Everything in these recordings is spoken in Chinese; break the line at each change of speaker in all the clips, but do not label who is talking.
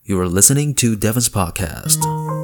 You are listening to Devon's podcast.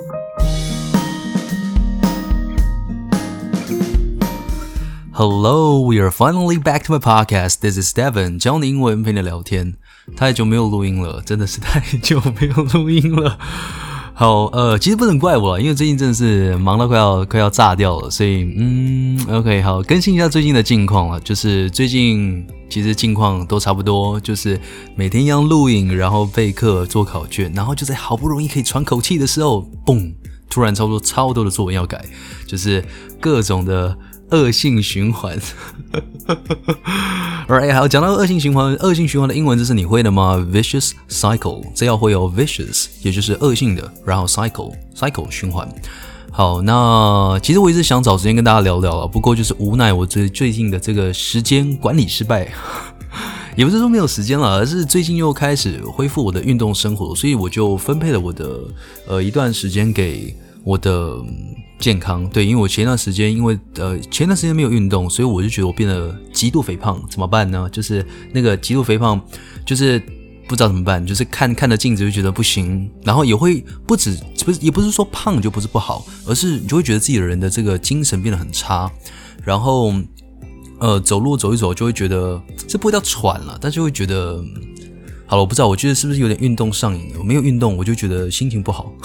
Hello, we are finally back to my podcast. This is Devon, 教你英文陪你聊天。太久没有錄音了，真的是太久沒有錄音了。好，其實不能怪我啦，因為最近真的是忙到快要炸掉了，所以OK， 好，更新一下最近的近況啦，就是最近其實近況都差不多，就是每天一樣錄影，然後備課做考卷，然後就在好不容易可以喘口氣的時候，嘣，突然超多的作文要改，就是各種的惡性循環。Alright， 好，講到惡性循環的英文，這是你會的嗎 ？Vicious cycle， 這要會哦 ，vicious 也就是惡性的，然後 cycle 循環。好，那其實我一直想找時間跟大家聊聊了，不過就是無奈我最近的這個時間管理失敗，也不是說沒有時間了，而是最近又開始恢復我的運動生活，所以我就分配了我的一段時間給我的健康。對，因為我前段时間沒有運動，所以我就覺得我變得極度肥胖，怎麼辦呢？就是那個極度肥胖，就是不知道怎麼辦，就是看着鏡子就覺得不行，然後也會也不是說胖就不是不好，而是你就會覺得自己的人的這個精神變得很差，然後走路走一走就會覺得這不會叫喘了，但是會覺得好了，我不知道，我覺得是不是有點運動上癮了？我沒有運動我就覺得心情不好。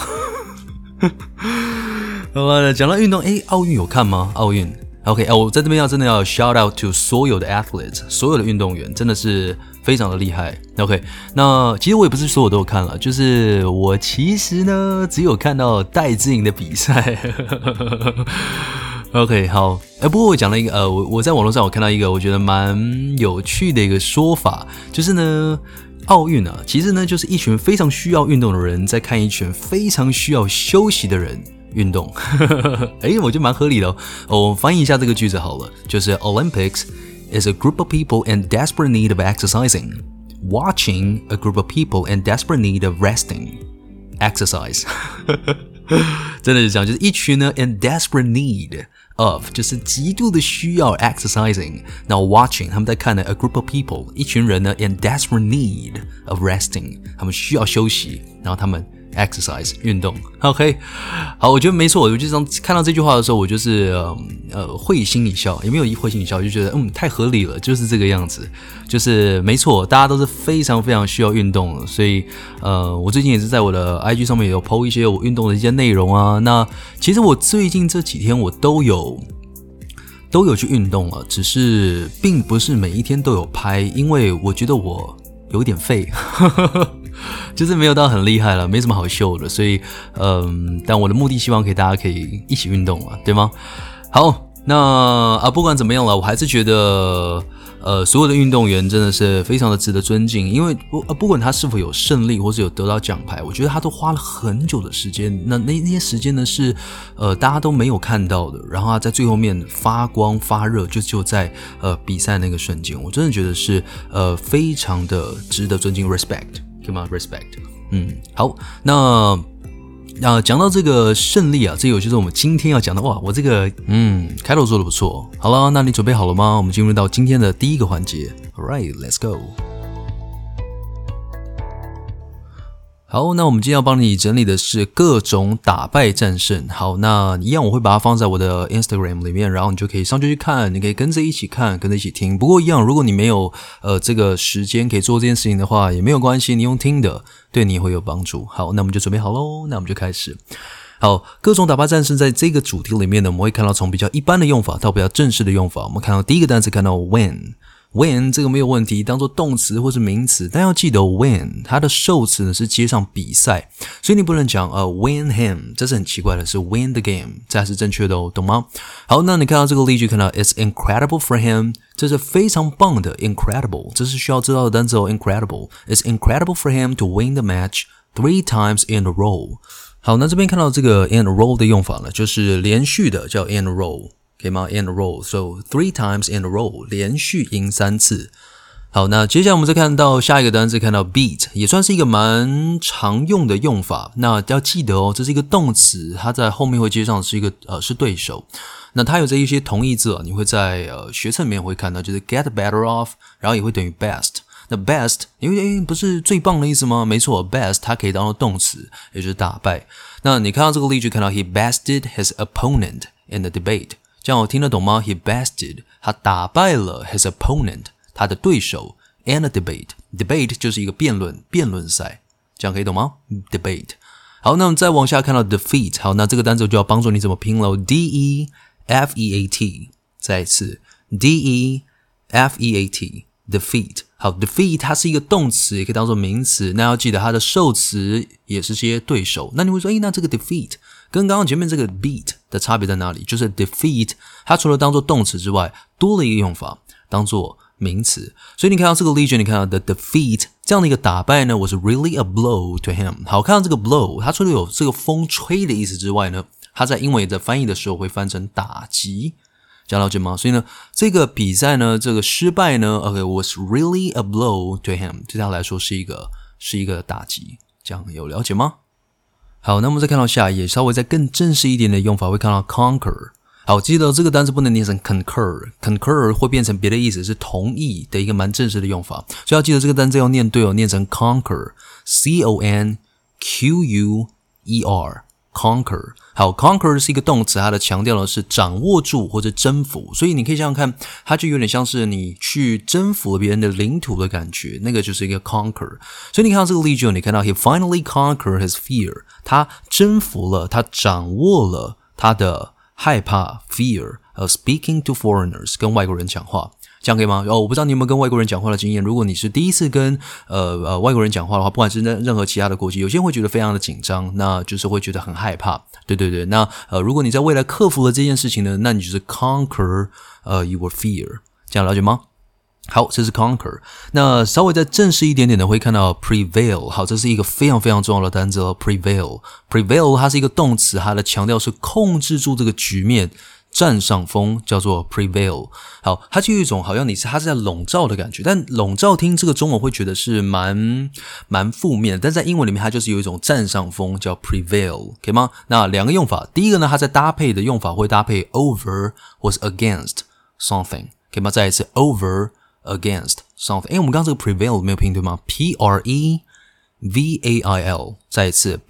好了，講到運動，奧運有看嗎？奧運 ，OK， 我在這邊真的要 shout out to 所有的 athletes， 所有的運動員，真的是非常的厲害。OK， 那其實我也不是所有都有看了，就是我其實呢只有看到戴資穎的比賽。OK， 好，不過我講了一個我在網絡上我看到一個我覺得蠻有趣的一個說法，就是呢，奧運啊，其實呢就是一群非常需要運動的人在看一群非常需要休息的人運動。我覺得蠻合理的哦。我翻譯一下這個句子好了，就是 Olympics is a group of people in desperate need of exercising, watching a group of people in desperate need of resting. Exercise. 真的是這樣，就是一群呢 in desperate need of 就是極度的需要 exercising， 那 watching 他們在看的 a group of people 一群人呢 in desperate need of resting， 他們需要休息，然後他們exercise 運動。 OK， 好，我覺得沒錯，我就看到這句話的時候，我就是會心一笑，也沒有會心一笑，就覺得太合理了，就是這個樣子，就是沒錯，大家都是非常非常需要運動的，所以我最近也是在我的 IG 上面也有 po 一些我運動的一些內容啊。那其實我最近這幾天我都有去運動了，只是並不是每一天都有拍，因為我覺得我有點廢。就是沒有到很厲害了，沒什麼好秀的，所以但我的目的希望大家可以一起運動嘛，對嗎？好，那不管怎麼樣了，我還是覺得所有的運動員真的是非常的值得尊敬，因為不管他是否有勝利或是有得到獎牌，我覺得他都花了很久的時間，那些時間呢是大家都沒有看到的，然後他在最後面發光發熱，就在比賽那個瞬間，我真的覺得是非常的值得尊敬 ，respect。Respect， 好，那講到這個勝利啊，這個就是我們今天要講的。哇，我這個開頭做得不錯。好了，那你準備好了嗎？我們進入到今天的第一個環節。Alright, let's go。好，那我們今天要幫你整理的是各種打敗戰勝。好，那一樣我會把它放在我的 Instagram 裡面，然後你就可以上去看，你可以跟着一起看，跟着一起聽。不過一樣，如果你沒有這個時間可以做這件事情的話，也沒有關係，你用聽的對你也會有幫助。好，那我們就準備好嘍，那我們就開始。好，各種打敗戰勝在這個主題裡面呢，我們會看到從比較一般的用法到比較正式的用法。我們看到第一個單詞，看到 win。Win 這個沒有問題，當做動詞或是名詞，但要記得 win 它的受詞呢是接上比賽，所以你不能講win him， 這是很奇怪的，是 win the game， 這還是正確的哦，懂嗎？好，那你看到這個例句，看到 it's incredible for him， 這是非常棒的 incredible， 這是需要知道的單詞哦 incredible， it's incredible for him to win the match 3 times in a row。 好，那這邊看到這個 in a row 的用法呢，就是連續的叫 in a row，可以嗎 ？In a row, so 3 times in a row， 連續贏3次。好，那接下來我們再看到下一個單詞，看到 beat， 也算是一個蠻常用的用法。那要記得哦，這是一個動詞，它在後面會接上是一個是對手。那它有這一些同義字你會在學冊裡面會看到，就是 get better off， 然後也會等於 best。 那 best 因為不是最棒的意思嗎？沒錯 ，best 它可以當做動詞，也就是打敗。那你看到這個例句，看到 he bested his opponent in the debate， 這樣我聽得懂嗎？ He bested 他打敗了 his opponent 他的對手 in a debate 就是一個辯論賽，這樣可以懂嗎 ？debate。好，那我們再往下看到 defeat， 好，那這個單詞就要幫助你怎麼拼了 ，D-E-F-E-A-T， 再一次 D-E-F-E-A-T， defeat。好 ，defeat 它是一個動詞，也可以當做名詞，那要記得它的受詞也是些對手。那你會說，那這個 defeat 跟剛剛前面這個 beat 的差別在哪裡？就是 defeat 它除了當做動詞之外，多了一個用法，當做名詞。所以你看到這個例句，你看到的 defeat 這樣的一個打敗呢 was really a blow to him。好，看到這個 blow， 它除了有這個風吹的意思之外呢，它在英文的翻譯的時候會翻成打擊，這樣了解嗎？所以呢，這個比賽呢，這個失敗呢 ，OK was really a blow to him， 對他來說是一個打擊，這樣有了解嗎？好，那我們再看到下一頁，稍微再更正式一點的用法，會看到 conquer。好，記得這個單詞不能念成 concur 會變成別的意思，是同意的一個蠻正式的用法，所以要記得這個單詞要念對哦，念成 conquer， C-O-N-Q-U-E-R， conquer。好 ，conquer 是一個動詞，它的強調的是掌握住或者征服，所以你可以想想看，它就有點像是你去征服了別人的領土的感覺，那個就是一個 conquer。所以你看到這個例句，你看到 he finally conquered his fear， 他征服了，他掌握了他的害怕 fear of speaking to foreigners， 跟外國人講話，這樣可以嗎？我不知道你有沒有跟外國人講話的經驗。如果你是第一次跟外國人講話的話，不管是任何其他的國籍，有些人會覺得非常的緊張，那就是會覺得很害怕。對，那如果你在未來克服了這件事情呢，那你就是 conquer your fear， 這樣了解嗎？好，這是 conquer。那稍微再正式一點點的，會看到 prevail。好，這是一個非常非常重要的單詞哦 ，prevail。prevail 它是一個動詞，它的強調是控制住這個局面，佔上風，叫做 prevail。好，它就有一種好像它是在籠罩的感覺，但籠罩聽這個中文會覺得是蠻負面的，但在英文裡面它就是有一種佔上風，叫 prevail， 可以嗎？那兩個用法，第一個呢，它在搭配的用法會搭配 over 或是 against something， 可以嗎？再一次 over。against something， 我們剛剛這個 prevail 沒有拼對嗎？ P-R-E-V-A-I-L， 再一次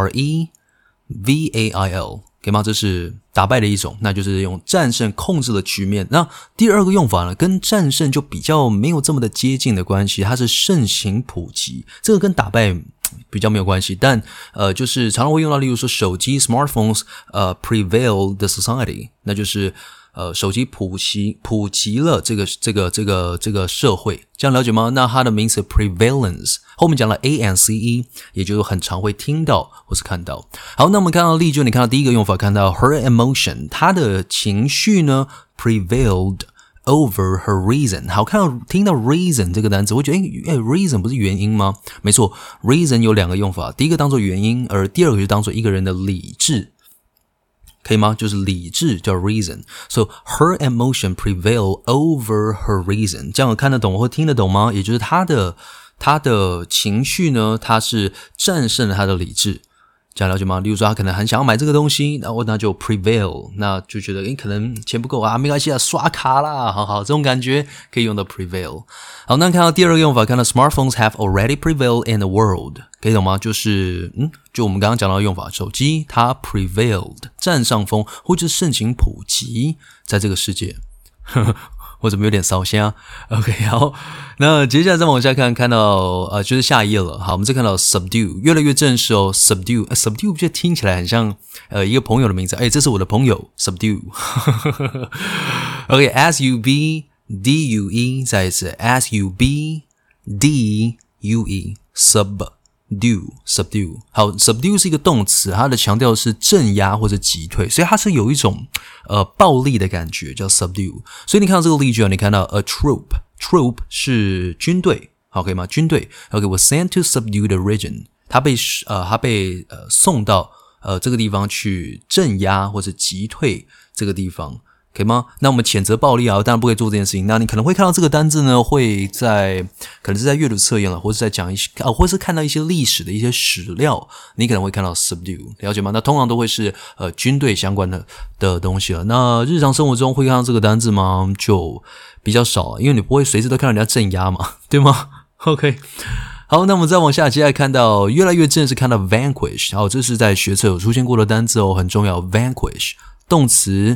P-R-E-V-A-I-L， 可以嗎？這是打敗的一種，那就是用戰勝控制了局面。那第二個用法呢，跟戰勝就比較沒有這麼的接近的關係，它是盛行普及，這個跟打敗比較沒有關係，但就是常常會用到，例如說手機 smartphones prevail the society， 那就是手機普及了這個社會，這樣了解嗎？那它的名詞 prevalence 後面講了 A-N-C-E， 也就是很常會聽到或是看到。好，那我們看到例句，你看到第一個用法，看到 her emotion， 她的情緒呢 prevailed over her reason。好，聽到 reason 這個單詞，我覺得reason 不是原因嗎？沒錯 ，reason 有兩個用法，第一個當作原因，而第二個就當作一個人的理智。可以嗎？就是理智叫 reason， so her emotion prevail over her reason， 這樣看得懂或聽得懂嗎？也就是他的情緒呢，他是戰勝了他的理智，這樣了解嗎？例如說他可能很想要買這個東西，那就 prevail， 那就覺得可能錢不夠啊，沒關係啊，刷卡啦，好，這種感覺可以用到 prevail。好，那看到第二個用法，看到 smartphones have already prevailed in the world， 可以懂嗎？就我們剛剛講到的用法，手機它 prevailed 佔上風，或者是盛行普及在這個世界。我怎麼有點燒香 ？OK， 好，那接下來再往下看到就是下一頁了。好，我們再看到 subdue， 越來越正式哦。subdue 就聽起來很像一個朋友的名字。這是我的朋友 subdue。OK，S-U-B-D-U-E， 再一次 S-U-B-D-U-E subdue。好 ，subdue 是一個動詞，它的強調是鎮壓或者擊退，所以它是有一種暴力的感覺，叫 subdue。所以你看到這個例句啊，你看到 a troop 是軍隊，好，可以嗎？軍隊 ，OK， was sent to subdue the region， 他被送到這個地方去鎮壓或者擊退這個地方。可以嗎？那我們譴責暴力啊，當然不可以做這件事情。那你可能會看到這個單字呢，可能是在閱讀測驗了，或是在講一些或是看到一些歷史的一些史料，你可能會看到 subdue， 了解嗎？那通常都會是軍隊相關的東西了。那日常生活中會看到這個單字嗎？就比較少，因為你不會隨時都看到人家鎮壓嘛，對嗎？ OK， 好，那我們再往下，接下來看到越來越正式看到 vanquish， 好，這是在學測有出現過的單字哦，很重要。vanquish 動詞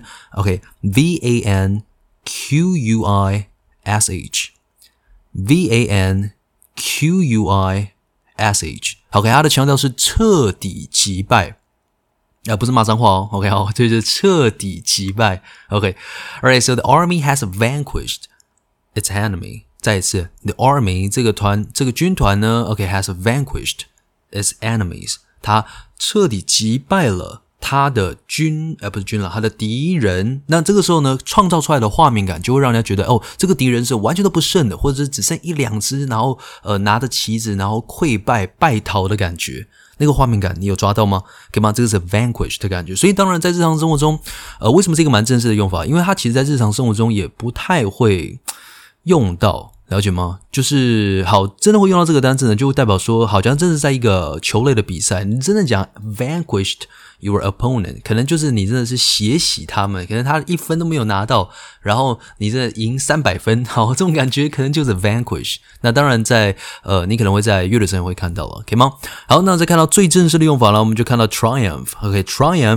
，OK，vanquish，vanquish， OK， 它的強調是徹底擊敗。不是罵髒話哦 ，OK， 好，這就是徹底擊敗 ，OK，Alright， so the army has vanquished its enemy。再一次 ，the army 這個軍團呢 ，OK has vanquished its enemies， 它徹底擊敗了他的他的敵人。那這個時候呢，創造出來的畫面感就會讓人家覺得，哦，這個敵人是完全都不剩的，或者是只剩一兩隻，然後拿着旗子，然後潰敗敗逃的感覺。那個畫面感你有抓到嗎？可以嗎？這個是 vanquish 的感覺。所以當然在日常生活中，為什麼是一個蠻正式的用法？因為它其實在日常生活中也不太會用到，了解嗎？就是好，真的會用到这個單字呢，就會代表說，好像真的是在一個球類的比賽，你真的講 vanquished your opponent， 可能就是你真的是血洗他們，可能他1分都沒有拿到，然後你真的贏300分，好，這種感覺可能就是 vanquish。那當然在你可能會在樂理上也會看到了，可以嗎？好，那再看到最正式的用法了，我們就看到 triumph。OK，triumph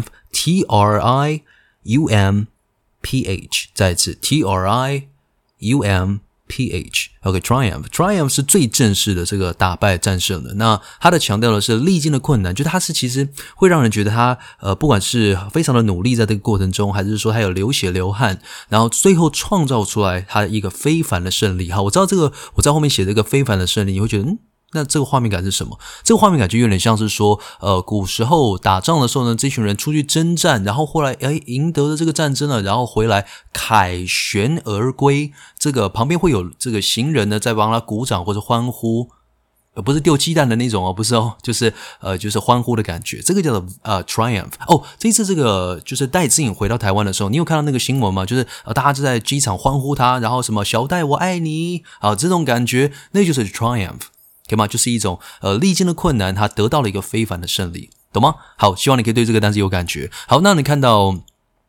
T-R-I-U-M-P-H， 再一次 T-R-I-U-M-P-H，OK，triumph 是最正式的這個打敗戰勝的。那它的強調的是歷經的困難，就它是其實會讓人覺得他不管是非常的努力在這個過程中，還是說他有流血流汗，然後最後創造出來他一個非凡的勝利。好，我知道這個我在後面寫這個非凡的勝利，你會覺得那這個畫面感是什麼？這個畫面感就有點像是說，古時候打仗的時候呢，這群人出去征戰，然後後來贏得了這個戰爭了，然後回來凱旋而歸，這個旁邊會有這個行人呢在幫他鼓掌或者歡呼，不是丟雞蛋的那種哦，不是哦，就是歡呼的感覺，這個叫做triumph。哦，這一次這個就是戴資穎回到台灣的時候，你有看到那個新聞嗎？就是大家就在機場歡呼他，然後什麼小戴我愛你，這種感覺，那就是 triumph。可以嗎？就是一種歷經的困難，他得到了一個非凡的勝利，懂嗎？好，希望你可以對這個單詞有感覺。好，那你看到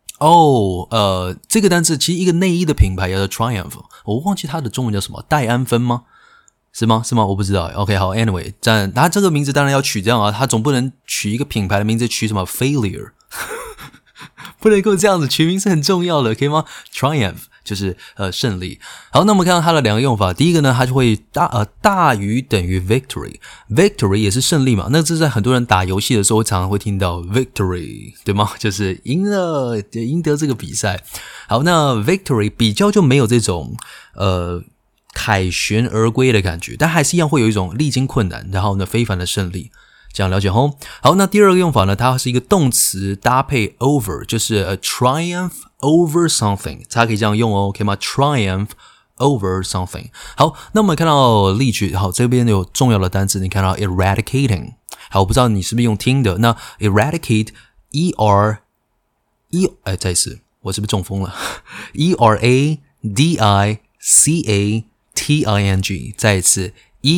這個單詞其實一個內衣的品牌叫做 Triumph， 我忘記它的中文叫什麼，戴安芬嗎？是嗎？我不知道。OK， 好 ，Anyway， 它這個名字當然要取這樣啊，它總不能取一個品牌的名字取什麼 failure， 不能夠這樣子，取名是很重要的，可以嗎 ？Triumph。就是勝利。好，那我們看到它的兩個用法。第一個呢，它就會大於等於 victory 也是勝利嘛。那這在很多人打遊戲的時候常常會聽到 victory， 對嗎？就是贏了，贏得這個比賽。好，那 victory 比較就沒有這種凱旋而歸的感覺，但還是一樣會有一種歷經困難，然後呢非凡的勝利。這樣了解齁。好，那第二個用法呢，它是一個動詞搭配 over， 就是 triumph over something， 它可以這樣用哦，可以嗎？ triumph over something。好，那我們看到例句，好，這邊有重要的單詞，你看到 eradicating。好，我不知道你是不是用聽的，那 eradicate 再一次，我是不是中風了？E-R-A-D-I-C-A-T-I-N-G， 再一次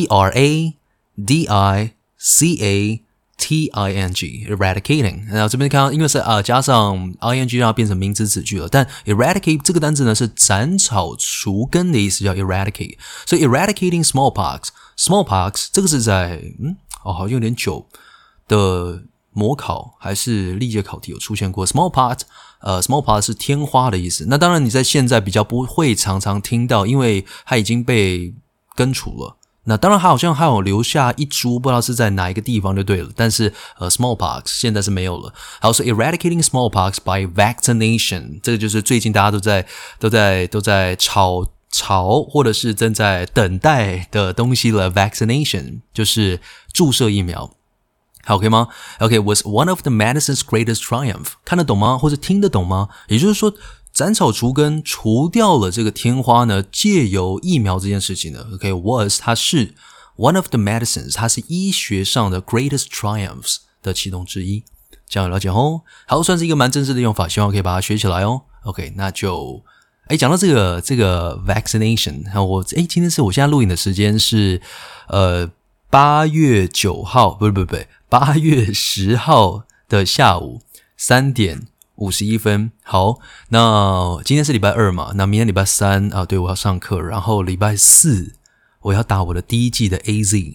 E-R-A-D-I-C-A-T-I-N-G eradicating， 然後這邊看到因為是加上 ing 讓它變成名詞子句了，但 eradicate 這個單字呢是斬草除根的意思，叫 eradicate。所以 eradicating smallpox 這個是在好像有點久的模考還是歷屆考題有出現過 smallpox 是天花的意思。那當然你在現在比較不會常常聽到，因為它已經被根除了。那當然，它好像還有留下一株，不知道是在哪一個地方就對了。但是smallpox 現在是沒有了。好，所以 eradicating smallpox by vaccination， 這個就是最近大家都在吵，或者是正在等待的東西了。vaccination 就是注射疫苗。好，可以嗎 ？OK， was one of the medicine's greatest triumph。看得懂嗎？或者聽得懂嗎？也就是說，斬草除根，除掉了這個天花呢，借由疫苗這件事情呢 ，OK，was 它是 one of the medicines， 它是醫學上的 greatest triumphs 的其中之一，這樣了解哦。好，算是一個蠻正式的用法，希望可以把它學起來哦。OK， 那就講到這個 vaccination， 今天是我現在錄影的時間是8月9號，不，8月10號的下午3點51分。好，那今天是禮拜2嘛，那明天禮拜3對，我要上課，然後禮拜4 我要打我的第一劑的 AZ。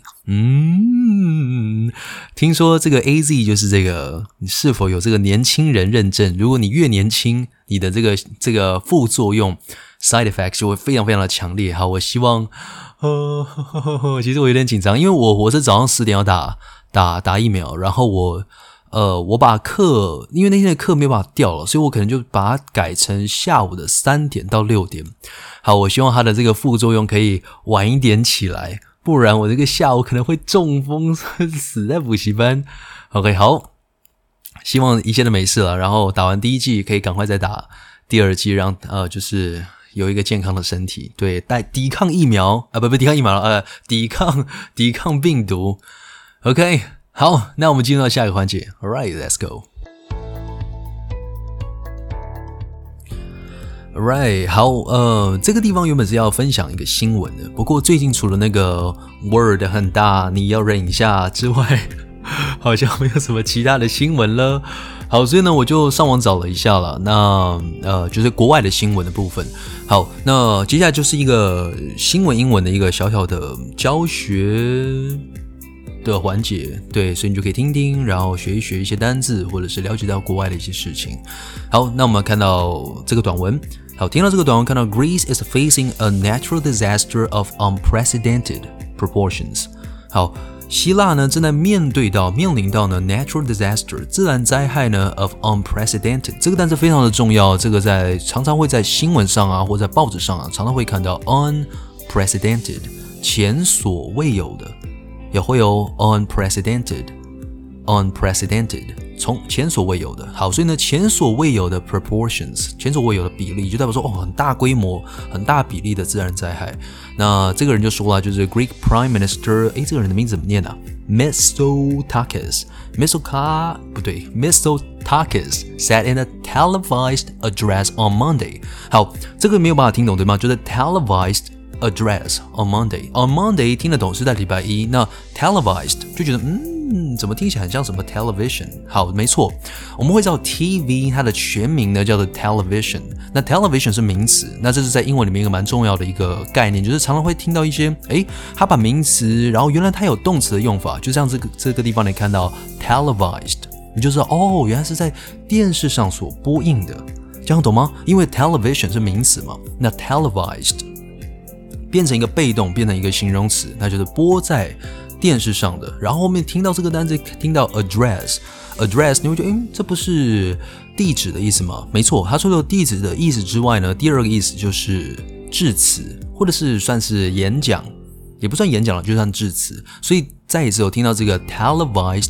聽說這個 AZ 就是這個，你是否有這個年輕人認證？如果你越年輕，你的這個副作用 side effects 就會非常非常的強烈。好，我希望，其實我有點緊張，因為我是早上10點要打疫苗，然後我把課，因為那天的課沒有辦法調了，所以我可能就把它改成下午的3點到6點。好，我希望它的這個副作用可以晚一點起來，不然我這個下午可能會中風死在補習班。OK， 好，希望一切都沒事了，然後打完第一劑可以趕快再打第二劑，讓就是有一個健康的身體，對，抵抗疫苗啊，不抵抗疫苗了，抵抗病毒。OK， 好，那我們進入到下一個環節。All right, let's go. Alright， 好，這個地方原本是要分享一個新聞的，不過最近除了那個 Word 很大，你要忍一下之外，好像沒有什麼其他的新聞了。好，所以呢，我就上網找了一下了，那就是國外的新聞的部分。好，那接下來就是一個新聞英文的一個小小的教學的環節，對，所以你就可以聽聽，然後學一些單字，或者是了解到國外的一些事情。好，那我們看到這個短文。好，聽到這個短文，看到 Greece is facing a natural disaster of unprecedented proportions。好，希臘呢正在面臨到呢 natural disaster 自然災害呢 of unprecedented 這個單詞非常的重要，這個常常會在新聞上啊，或在報紙上啊，常常會看到 unprecedented 前所未有的，也會有 unprecedented 從前所未有的。好，所以呢，前所未有的 proportions 前所未有的比例，就代表說很大規模、很大比例的自然災害。那這個人就說了，就是 Greek Prime Minister， 這個人的名字怎麼念啊？ Mitsotakis said in a televised address on Monday。 好，這個沒有辦法聽懂對嗎？就是 televised address on Monday。On Monday 聽得懂是在禮拜一，那 televised 就覺得怎么聽起來很像什麼 television？ 好，沒錯，我們會知道 TV 它的全名呢叫做 television。那 television 是名詞，那這是在英文裡面一個蠻重要的一個概念，就是常常會聽到一些，它把名詞，然後原來它有動詞的用法，就像這個地方你看到 televised， 你就知道原來是在電視上所播映的，這樣懂嗎？因為 television 是名詞嘛，那 televised 變成一個被動，變成一個形容詞，那就是播在電視上的。然後後面聽到這個單詞，聽到 address， 你會覺得這不是地址的意思嗎？沒錯，它除了地址的意思之外呢，第二個意思就是致辭，或者是算是演講，也不算演講了，就算致辭。所以再一次有聽到這個 televised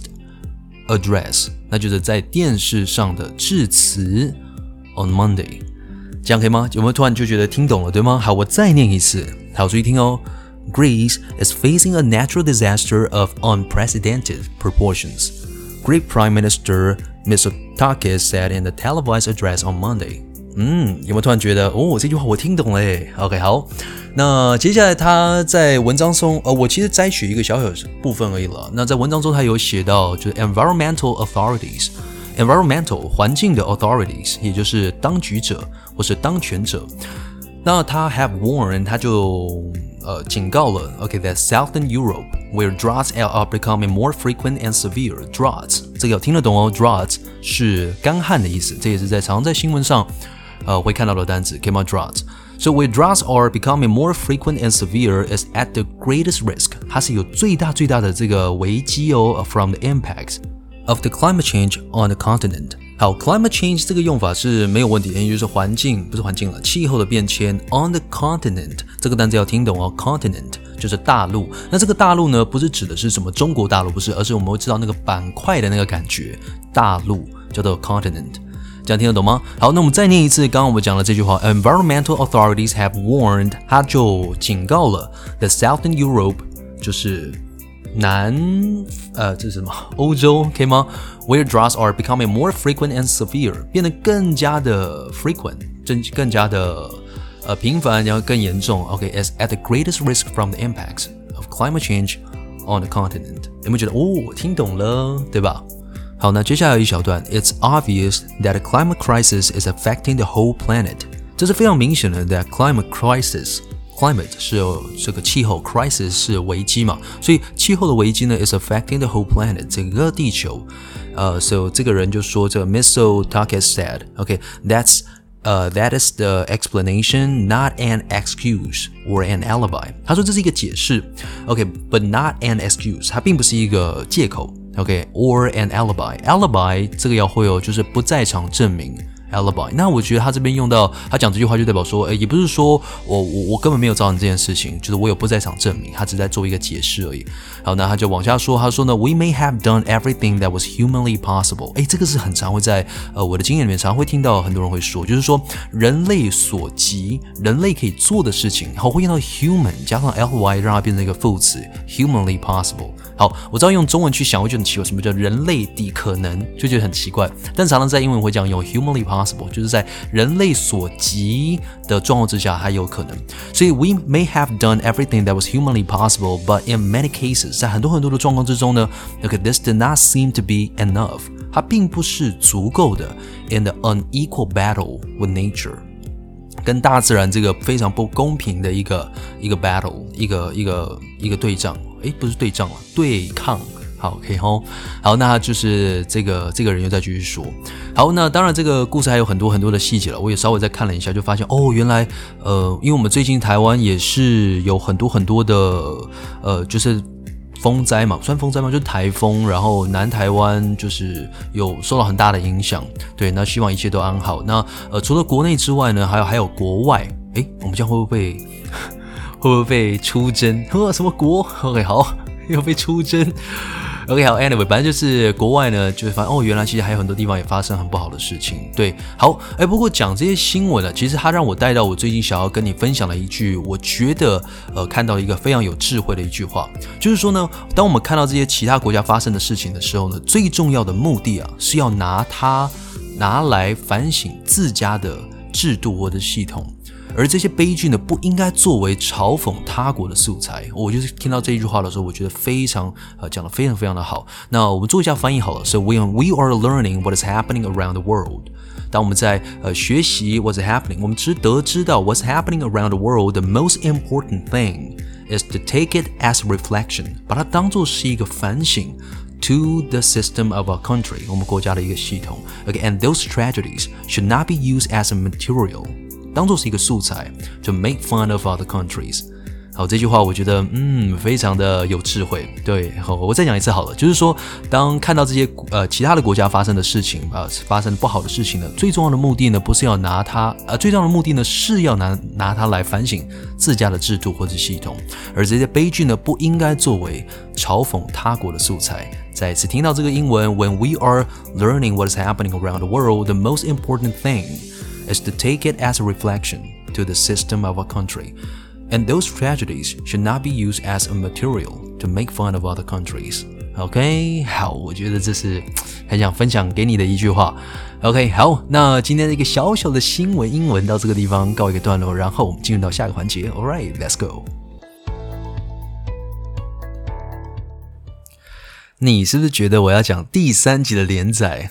address， 那就是在電視上的致辭 on Monday， 這樣可以嗎？有沒有突然就覺得聽懂了，對嗎？好，我再念一次，好，注意聽哦。Greece is facing a natural disaster of unprecedented proportions. Greek Prime Minister Mitsotakis said in a televised address on Monday. 有沒有突然覺得這句話我聽懂了耶 ？OK， 好，那接下來他在文章中，我其實摘取一個小小部分而已了。那在文章中他有寫到，就是 environmental authorities。environmental 環境的 authorities， 也就是當局者或是當權者。那他 have warned， 他就警告了 that Southern Europe where droughts are becoming more frequent and severe. Droughts 這個有聽得懂哦 ，droughts 是乾旱的意思，這也是常在新聞上會看到的單詞 ，came on droughts. So where droughts are becoming more frequent and severe is at the greatest risk. 它是有最大的這個危機from the impacts of the climate change on the continent. 好 ，climate change 這個用法是沒有問題的，也就是氣候的變遷 on the continent 這個單詞要聽懂哦 ，continent 就是大陸。那這個大陸呢，不是指的是什麼中國大陸，不是，而是我們會知道那個板塊的那個感覺，大陸叫做 continent， 這樣聽得懂嗎？好，那我們再念一次，剛剛我們講了這句話 ，environmental authorities have warned， 它就警告了 the Southern Europe， 就是这是什么？歐洲，可以嗎 ？Where droughts are becoming more frequent and severe， 變得更加的 frequent， 更加的頻繁，然後更嚴重。is at the greatest risk from the impacts of climate change on the continent。有沒有覺得我聽懂了，對吧？好，那接下來有一小段 ，It's obvious that a climate crisis is affecting the whole planet。這是非常明顯的 that climate crisis。 climate 是這個氣候 crisis 是危機嘛，所以氣候的危機呢 is affecting the whole planet 整個地球。So 這個人就說這個 Mitsotakis said, okay, that is the explanation, not an excuse or an alibi. 他說這是一個解釋 ，okay, but not an excuse. 它並不是一個借口 ，okay, or an alibi. Alibi 這個要會有，就是不在場證明。alibi， 那我覺得他這邊用到他講這句話就代表說，也不是說我根本沒有造成這件事情，就是我有不在場證明，他只在做一個解釋而已。好，那他就往下說，他說呢 ，We may have done everything that was humanly possible。這個是很常會在我的經驗裡面常會聽到很多人會說，就是說人類所及，人類可以做的事情，好，會用到 human 加上 ly 讓它變成一個副詞 ，humanly possible。好，我知道用中文去想會覺得很奇怪，什麼叫人類的可能，就覺得很奇怪。但常常在英文會這樣用 humanly possible， 就是在人類所及的狀況之下還有可能。所以 we may have done everything that was humanly possible, but in many cases， 在很多的狀況之中呢 ，okay, this did not seem to be enough， 它並不是足夠的 in the unequal battle with nature。跟大自然這個非常不公平的一個 battle， 一個對仗，不是對仗了，對抗。好，可以吼。好，那就是這個人又再繼續說。好，那當然這個故事還有很多的細節了，我也稍微再看了一下，就發現原來因為我們最近台灣也是有很多的就是風災嘛，算風災嗎？就是台風，然後南台灣就是有受到很大的影響。對，那希望一切都安好。那除了國內之外呢，還有國外。我們這樣會不會被出征？什麼國 ？OK， 好，又被出征。OK， 好 ，Anyway， 反正就是國外呢，就是發現原來其實還有很多地方也發生很不好的事情。對，好，不過講這些新聞呢，其實它讓我帶到我最近想要跟你分享的一句，我覺得看到一個非常有智慧的一句話，就是說呢，當我們看到這些其他國家發生的事情的時候呢，最重要的目的是要拿來反省自家的制度或者系統。而這些悲劇呢，不應該作為嘲諷他國的素材。我就是聽到這一句話的時候，我覺得非常講得非常的好。那我們做一下翻譯好了。So we are learning what is happening around the world。當我們在學習 what's happening， 我們得知到 what's happening around the world， the most important thing is to take it as reflection， 把它當作是一個反省。To the system of our country， 我們國家的一個系統。Okay, and those tragedies should not be used as a material。當作是一個素材 to make fun of other countries。 好，這句話我覺得非常的有智慧。對，好，我再講一次好了，就是說當看到這些其他的國家發生的事情發生不好的事情呢，最重要的目的呢不是要拿它最重要的目的呢是要拿它來反省自家的制度或者系統，而這些悲劇呢不應該作為嘲諷他國的素材。再一次聽到這個英文 When we are learning what is happening around the world, the most important thing is to take it as a reflection to the system of our country. And those tragedies should not be used as a material to make fun of other countries. OK， 好，我覺得這是很想分享給你的一句話。OK， 好，那今天的一個小小的新聞英文到這個地方告一個段落，然後我們進入到下一個環節。Alright, let's go。你是不是覺得我要講第3集的連載？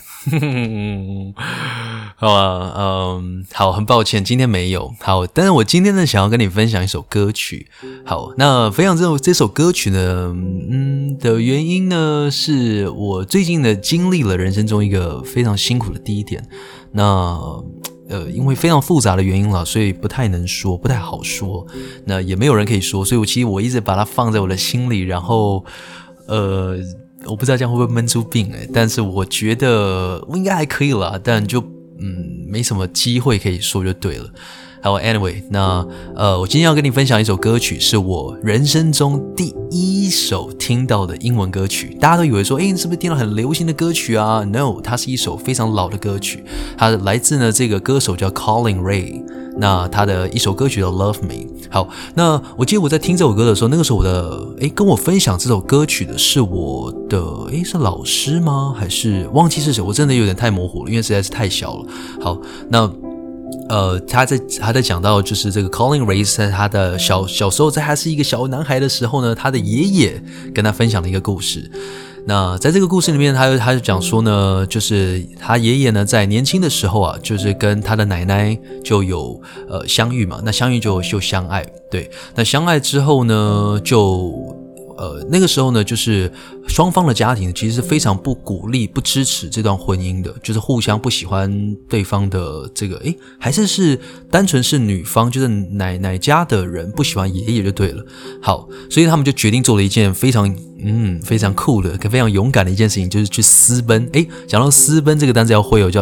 好啊，好，很抱歉，今天沒有。好，但是我今天呢，想要跟你分享一首歌曲。好，那分享這首歌曲呢，的原因呢，是我最近呢經歷了人生中一個非常辛苦的低點。那因為非常複雜的原因了，所以不太能說，不太好說。那也沒有人可以說，所以其實我一直把它放在我的心裡，然後我不知道這樣會不會悶出病但是我覺得我應該還可以啦，但就沒什麼機會可以說就對了。好 ，Anyway， 那我今天要跟你分享一首歌曲，是我人生中第一首聽到的英文歌曲。大家都以為說，你是不是聽到很流行的歌曲啊 ？No， 它是一首非常老的歌曲，它來自呢這個歌手叫 Colin Ray。那他的一首歌曲叫 Love Me。 好，那我記得我在聽這首歌的時候，那個時候我的跟我分享這首歌曲的是我的是老師嗎？還是忘記是誰？我真的有點太模糊了，因為實在是太小了。好，那他在講到就是這個 Colin Ray 在他的小時候，在他是一個小男孩的時候呢，他的爺爺跟他分享了一個故事。 那在這個故事裡面，他就講說呢，就是他爺爺呢在年輕的時候啊，就是跟他的奶奶就有相遇嘛，那相遇就相愛，對，那相愛之後呢，那個時候呢，就是雙方的家庭其實是非常不鼓勵、不支持這段婚姻的，就是互相不喜歡對方的這個，還是單純是女方，就是奶奶家的人不喜歡爺爺就對了。好，所以他們就決定做了一件非常酷的、非常勇敢的一件事情，就是去私奔。講到私奔這個單詞要會有叫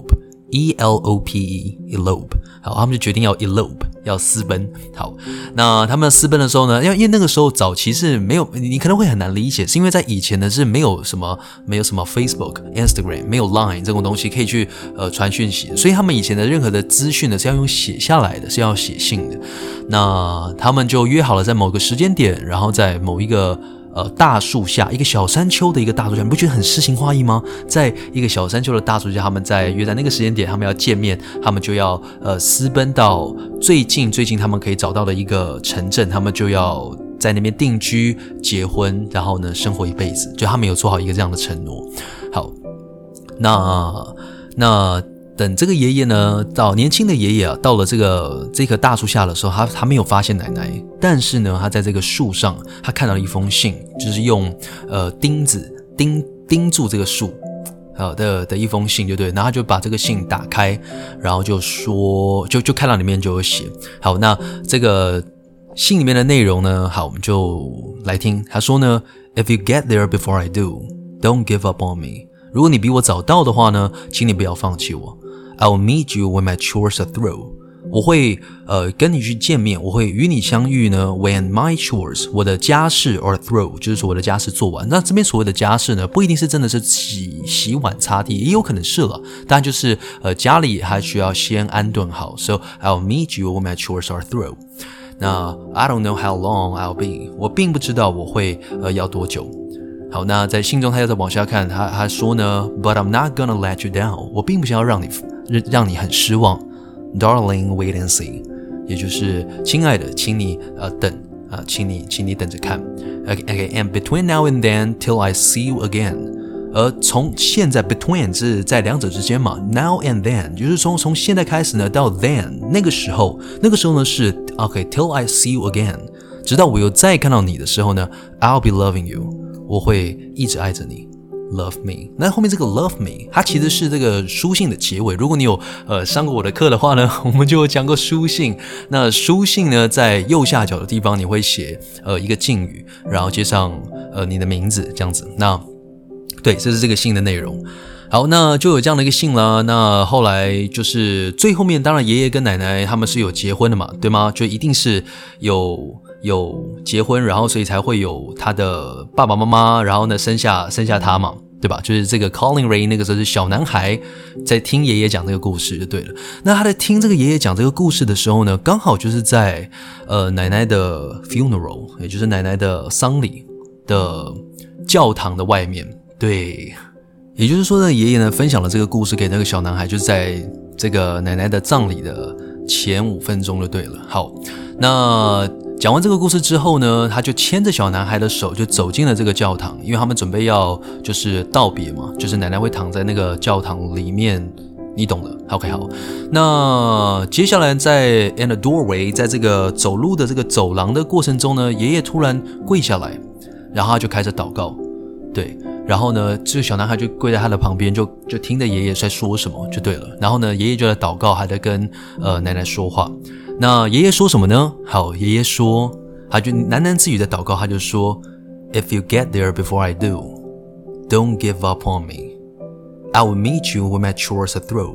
elope。elope。好，他們就決定要 elope， 要私奔。好，那他們私奔的時候呢，因為那個時候早期是沒有，你可能會很難理解，是因為在以前呢是沒有什麼 Facebook、Instagram， 沒有 Line 這種東西可以去傳訊息的，所以他們以前的任何的資訊呢是要用寫下來的，是要寫信的。那他們就約好了在某個時間點，然後在某一個大樹下，一個小山丘的一個大樹下，你不覺得很詩情畫意嗎？在一個小山丘的大樹下，他們約在那個時間點，他們要見面，他們就要私奔到最近他們可以找到的一個城鎮，他們就要在那邊定居、結婚，然後呢生活一輩子，就他們有做好一個這樣的承諾。好，那等這個爺爺呢，到年輕的爺爺啊，到了這棵大樹下的時候，他沒有發現奶奶，但是呢，他在這個樹上，他看到了一封信，就是用釘子釘住這個樹的一封信，就對。然後他就把這個信打開，然後就說，就看到裡面就有寫。好，那這個信裡面的內容呢，好，我們就來聽。他說呢 ，If you get there before I do, don't give up on me。如果你比我早到的話呢，請你不要放棄我。I'll meet you when my chores are through。我會跟你去見面，我會與你相遇呢。When my chores， 我的家事 are through， 就是說我的家事做完。那這邊所謂的家事呢，不一定是真的是洗碗擦地，也有可能是了。當然就是家裡還需要先安頓好。So I'll meet you when my chores are through。那 I don't know how long I'll be， 我並不知道我會要多久。好，那在信中他又再往下看，他說呢 ，But I'm not gonna let you down， 我並不想要讓你很失望 ，Darling, wait and see， 也就是親愛的，請你等啊，請你等着看。Okay, and between now and then, till I see you again， 而從現在 between 是在兩者之間嘛 ，now and then 就是從現在開始呢到 then 那個時候呢是 till I see you again， 直到我又再看到你的時候呢 ，I'll be loving you。我會一直愛着你 ，love me。那後面這個 love me， 它其實是這個書信的結尾。如果你有上過我的課的話呢，我們就有講過書信。那書信呢，在右下角的地方你會寫一個敬語，然後接上你的名字這樣子。那對，這是這個信的內容。好，那就有這樣的一個信啦。那後來就是最後面，當然爺爺跟奶奶他們是有結婚的嘛，對嗎？就一定是有結婚，然後所以才會有他的爸爸媽媽，然後呢生下他嘛，對吧？就是這個 Colin Ray 那個時候是小男孩在聽爺爺講這個故事就對了。那他在聽這個爺爺講這個故事的時候呢，剛好就是在奶奶的 funeral， 也就是奶奶的喪禮的教堂的外面，對。也就是說呢，爺爺呢分享了這個故事給那個小男孩，就是在這個奶奶的葬禮的前5分鐘就對了。好，那講完這個故事之後呢，他就牽着小男孩的手就走進了這個教堂，因為他們準備要就是道別嘛，就是奶奶會躺在那個教堂裡面，你懂的。OK， 好，那接下來在 in the doorway， 在這個走路的這個走廊的過程中呢，爺爺突然跪下來，然後他就開始禱告，對。然後呢，這個小男孩就跪在他的旁邊，就聽着爺爺在說什麼就對了。然後呢，爺爺就在禱告，還在跟奶奶說話。那爺爺說什麼呢？好，爺爺說，他就喃喃自語的禱告，他就說 ，If you get there before I do, don't give up on me. I will meet you when my chores are through.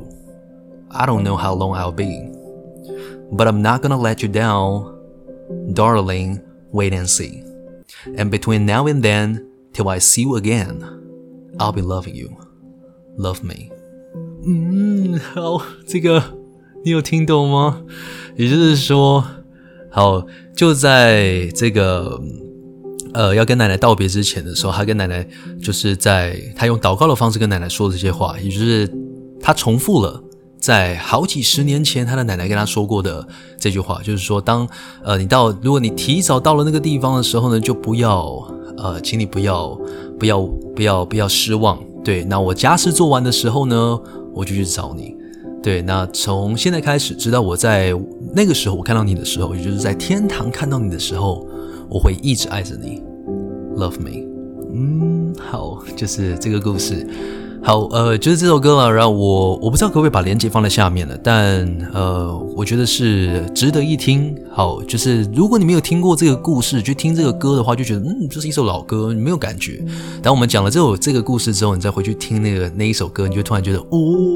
I don't know how long I'll be, but I'm not gonna let you down, darling. Wait and see. And between now and then.Till I see you again, I'll be loving you. Love me. 好，這個你有聽懂嗎？也就是說，好，就在這個要跟奶奶道別之前的時候，他跟奶奶就是他用禱告的方式跟奶奶說這些話，也就是他重複了在好幾十年前他的奶奶跟他說過的這句話，就是說，如果你提早到了那個地方的時候呢，就不要請你不要不要失望。對，那我家事做完的時候呢，我就去找你。對，那從現在開始，直到我在那個時候我看到你的時候，也就是在天堂看到你的時候，我會一直愛着你。Love me。好，就是這個故事。好，就是這首歌了。然後我不知道可不可以把連結放在下面了，但我覺得是值得一聽。好，就是如果你沒有聽過這個故事，去聽這個歌的話，就覺得這是一首老歌，你沒有感覺。當我們講了這個故事之後，你再回去聽那一首歌，你就突然覺得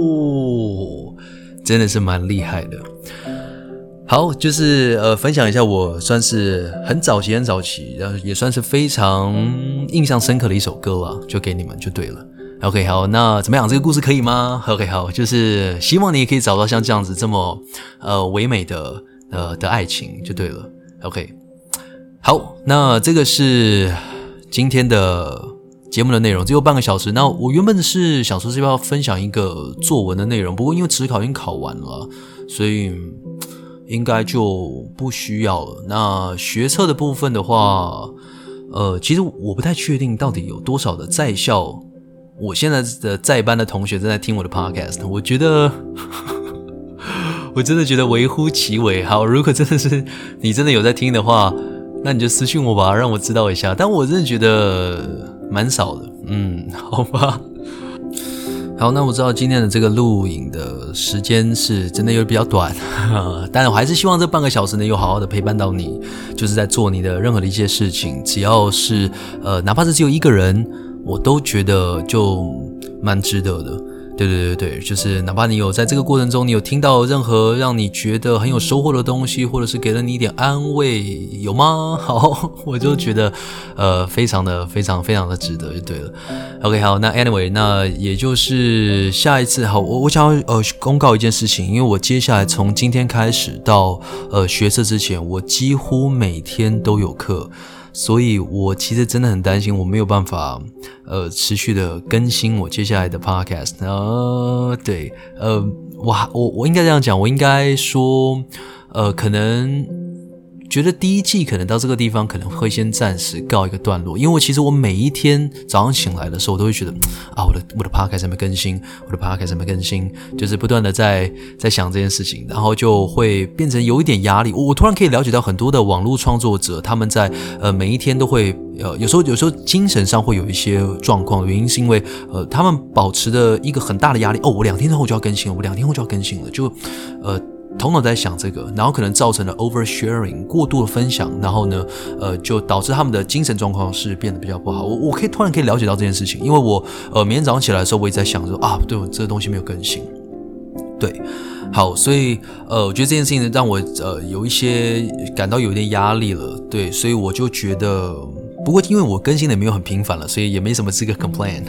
真的是蠻厲害的。好，就是分享一下我算是很早期，然后也算是非常印象深刻的一首歌了，就給你們就对了。OK， 好，那怎麼樣？這個故事可以嗎 ？OK， 好，就是希望你也可以找到像這樣子這麼唯美的愛情就對了。OK， 好，那這個是今天的節目的內容，只有半個小時。那我原本是想說是要分享一個作文的內容，不過因為指考已經考完了，所以應該就不需要了。那學測的部分的話，其實我不太確定到底有多少的在校。我現在的在班的同學正在聽我的 podcast， 我覺得我真的覺得微乎其微。好，如果真的是你真的有在聽的話，那你就私訊我吧，讓我知道一下。但我真的覺得蠻少的，好吧。好，那我知道今天的這個錄影的時間是真的有點比較短，但我還是希望這半個小時呢有好好的陪伴到你，就是在做你的任何的一些事情，只要是哪怕是只有一個人，我都覺得就蠻值得的。对，就是哪怕你有在這個過程中，你有聽到任何讓你覺得很有收穫的東西，或者是給了你一點安慰，有嗎？好，我就覺得非常的值得就對了。OK， 好，那 anyway， 那也就是下一次，好，我想要公告一件事情，因為我接下來從今天開始到學測之前，我幾乎每天都有課。所以我其實真的很擔心我沒有辦法持續的更新我接下來的 podcast。對，我應該這樣講，我應該說可能覺得第一季可能到這個地方可能會先暫時告一個段落，因為其實我每一天早上醒來的时候，我都會覺得我的 podcast 還沒更新，我的 podcast 還沒更新，就是不斷的在想這件事情，然後就會變成有一點壓力。我突然可以了解到很多的網絡創作者，他們在每一天都會有時候精神上會有一些狀況，原因是因為他們保持的一個很大的壓力。我2天後就要更新了，我2天後就要更新了，就頭腦在想這個，然後可能造成了 oversharing 過度的分享，然後呢，就導致他們的精神狀況是變得比較不好。我突然可以了解到這件事情，因為我每天早上起來的時候，我也在想說對，我這個東西沒有更新。對，好，所以我覺得這件事情讓我有一些感到有一點壓力了。對，所以我就覺得，不過因為我更新的也沒有很頻繁了，所以也沒什麼資格 complain。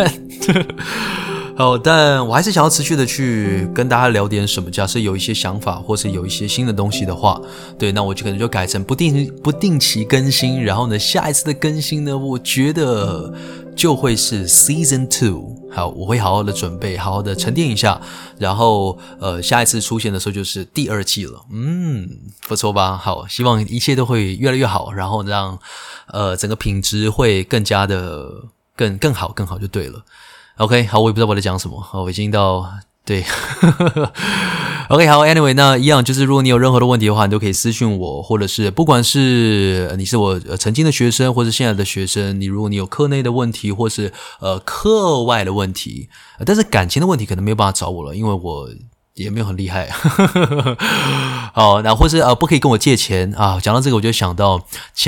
但我還是想要持續的去跟大家聊點什麼。假設有一些想法，或是有一些新的東西的話，對，那我就可能就改成不定期更新。然後呢，下一次的更新呢，我覺得就會是 Season 2。好，我會好好的準備，好好的沉澱一下，然後下一次出現的時候就是第2季了。不錯吧？好，希望一切都會越來越好，然後讓整個品質會更加的更好就對了。OK， 好，我也不知道我在講什麼。好，我已經到對，OK， 好 ，Anyway， 那一樣就是，如果你有任何的問題的話，你都可以私訊我，或者是不管是你是我曾經的學生，或是現在的學生，如果你有課內的問題，或是課外的問題，但是感情的問題可能沒有辦法找我了，因為我也沒有很厲害。好，那或是不可以跟我借錢啊。講到這個，我就想到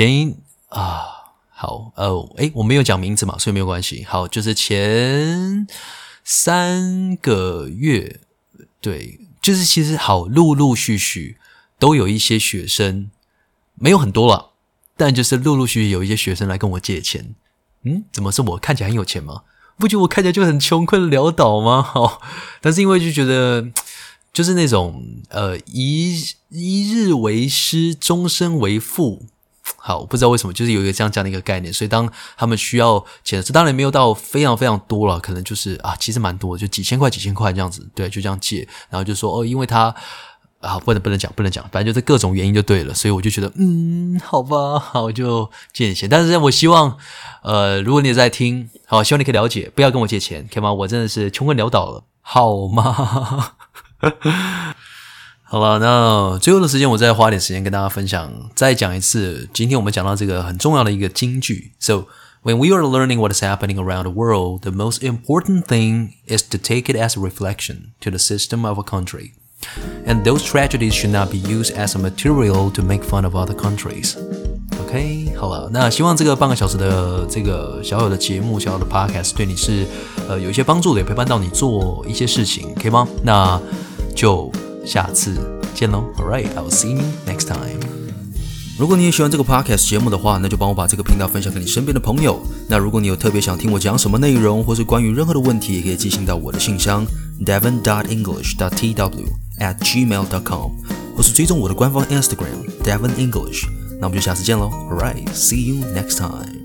好，我沒有講名字嘛，所以沒有關係。好，就是前3個月，對，就是其實好，陸續都有一些學生，沒有很多啦，但就是陸續有一些學生來跟我借錢。怎麼是我看起來很有錢嗎？不覺得我看起來就很窮困潦倒嗎？好，但是因為就覺得就是那種一日為師，終身為父。好，我不知道為什麼，就是有一個這樣的一個概念，所以當他們需要錢，這當然沒有到非常多了，可能就是其實蠻多的，就幾千塊這樣子，對，就這樣借，然後就說因為他啊，不能講，反正就是各種原因就對了，所以我就覺得，好吧，好，就借你錢。但是我希望，如果你也在聽，好，希望你可以了解，不要跟我借錢，可以嗎？我真的是窮困潦倒了，好嗎？好了，那最後的時間，我再花點時間跟大家分享，再講一次，今天我們講到這個很重要的一個金句 ，So when we are learning what is happening around the world, the most important thing is to take it as a reflection to the system of a country.And those tragedies should not be used as a material to make fun of other countries. OK， 好了，那希望這個半個小時的這個小小的節目、小小的 podcast 對你是有一些幫助的，也陪伴到你做一些事情，可以嗎？那就下次見嘍。Alright, I will see you next time. 如果你也喜歡這個 podcast 節目的話，那就幫我把這個頻道分享給你身邊的朋友。那如果你有特別想聽我講什麼內容，或是關於任何的問題，也可以寄信到我的信箱 devin.english.tw@gmail.com 或是追蹤我的官方 Instagram Devin English。那我們就下次見嘍。Alright, see you next time.